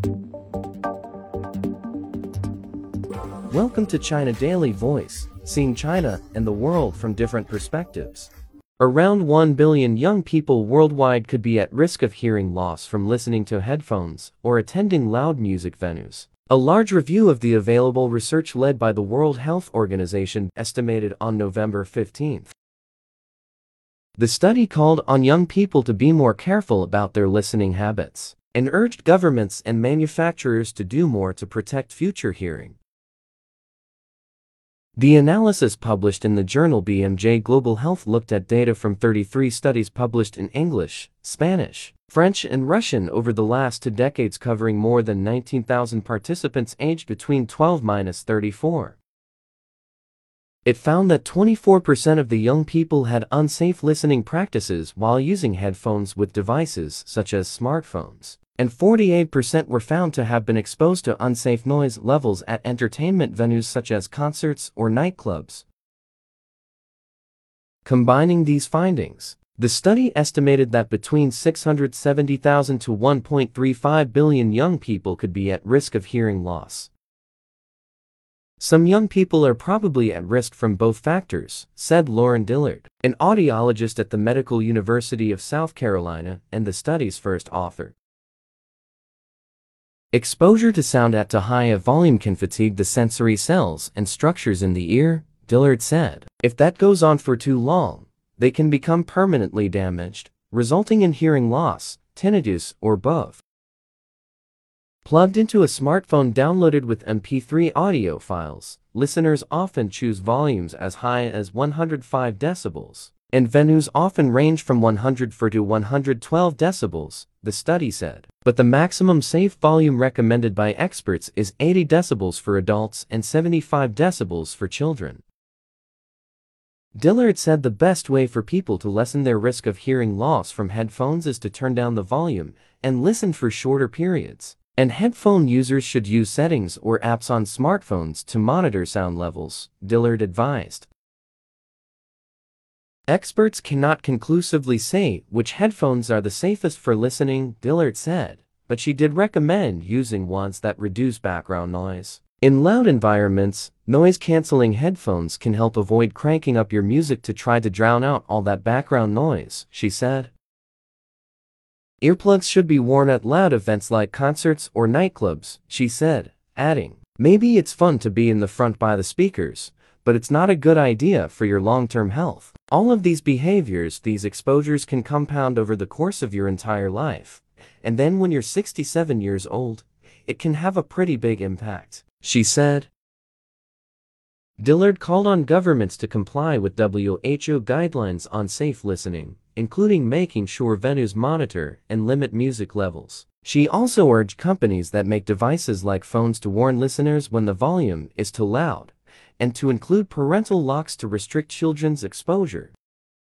Welcome to China Daily Voice, seeing China and the world from different perspectives. Around 1 billion young people worldwide could be at risk of hearing loss from listening to headphones or attending loud music venues. A large review of the available research led by the World Health Organization estimated on November 15. The study called on young people to be more careful about their listening habits and urged governments and manufacturers to do more to protect future hearing. The analysis published in the journal BMJ Global Health looked at data from 33 studies published in English, Spanish, French, and Russian over the last 2 decades, covering more than 19,000 participants aged between 12–34. It found that 24% of the young people had unsafe listening practices while using headphones with devices such as smartphones, and 48% were found to have been exposed to unsafe noise levels at entertainment venues such as concerts or nightclubs. Combining these findings, the study estimated that between 670,000 to 1.35 billion young people could be at risk of hearing loss. Some young people are probably at risk from both factors, said Lauren Dillard, an audiologist at the Medical University of South Carolina and the study's first author. Exposure to sound at too high a volume can fatigue the sensory cells and structures in the ear, Dillard said. If that goes on for too long, they can become permanently damaged, resulting in hearing loss, tinnitus, or both. Plugged into a smartphone downloaded with MP3 audio files, listeners often choose volumes as high as 105 decibels, and venues often range from 104 to 112 decibels, the study said. But the maximum safe volume recommended by experts is 80 decibels for adults and 75 decibels for children. Dillard said the best way for people to lessen their risk of hearing loss from headphones is to turn down the volume and listen for shorter periods. And headphone users should use settings or apps on smartphones to monitor sound levels, Dillard advised. Experts cannot conclusively say which headphones are the safest for listening, Dillard said, but she did recommend using ones that reduce background noise. In loud environments, noise-canceling headphones can help avoid cranking up your music to try to drown out all that background noise, she said. Earplugs should be worn at loud events like concerts or nightclubs, she said, adding, maybe it's fun to be in the front by the speakers, but it's not a good idea for your long-term health. All of these behaviors, these exposures can compound over the course of your entire life, and then when you're 67 years old, it can have a pretty big impact, she said. Dillard called on governments to comply with WHO guidelines on safe listening, including making sure venues monitor and limit music levels. She also urged companies that make devices like phones to warn listeners when the volume is too loud, and to include parental locks to restrict children's exposure.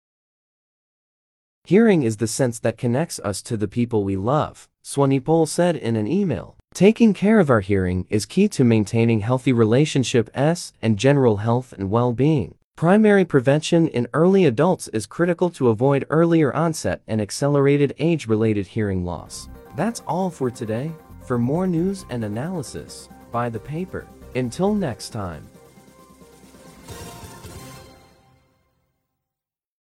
Hearing is the sense that connects us to the people we love, Swanepoel said in an email. Taking care of our hearing is key to maintaining healthy relationships and general health and well-being. Primary prevention in early adults is critical to avoid earlier onset and accelerated age-related hearing loss. That's all for today. For more news and analysis, buy the paper. Until next time.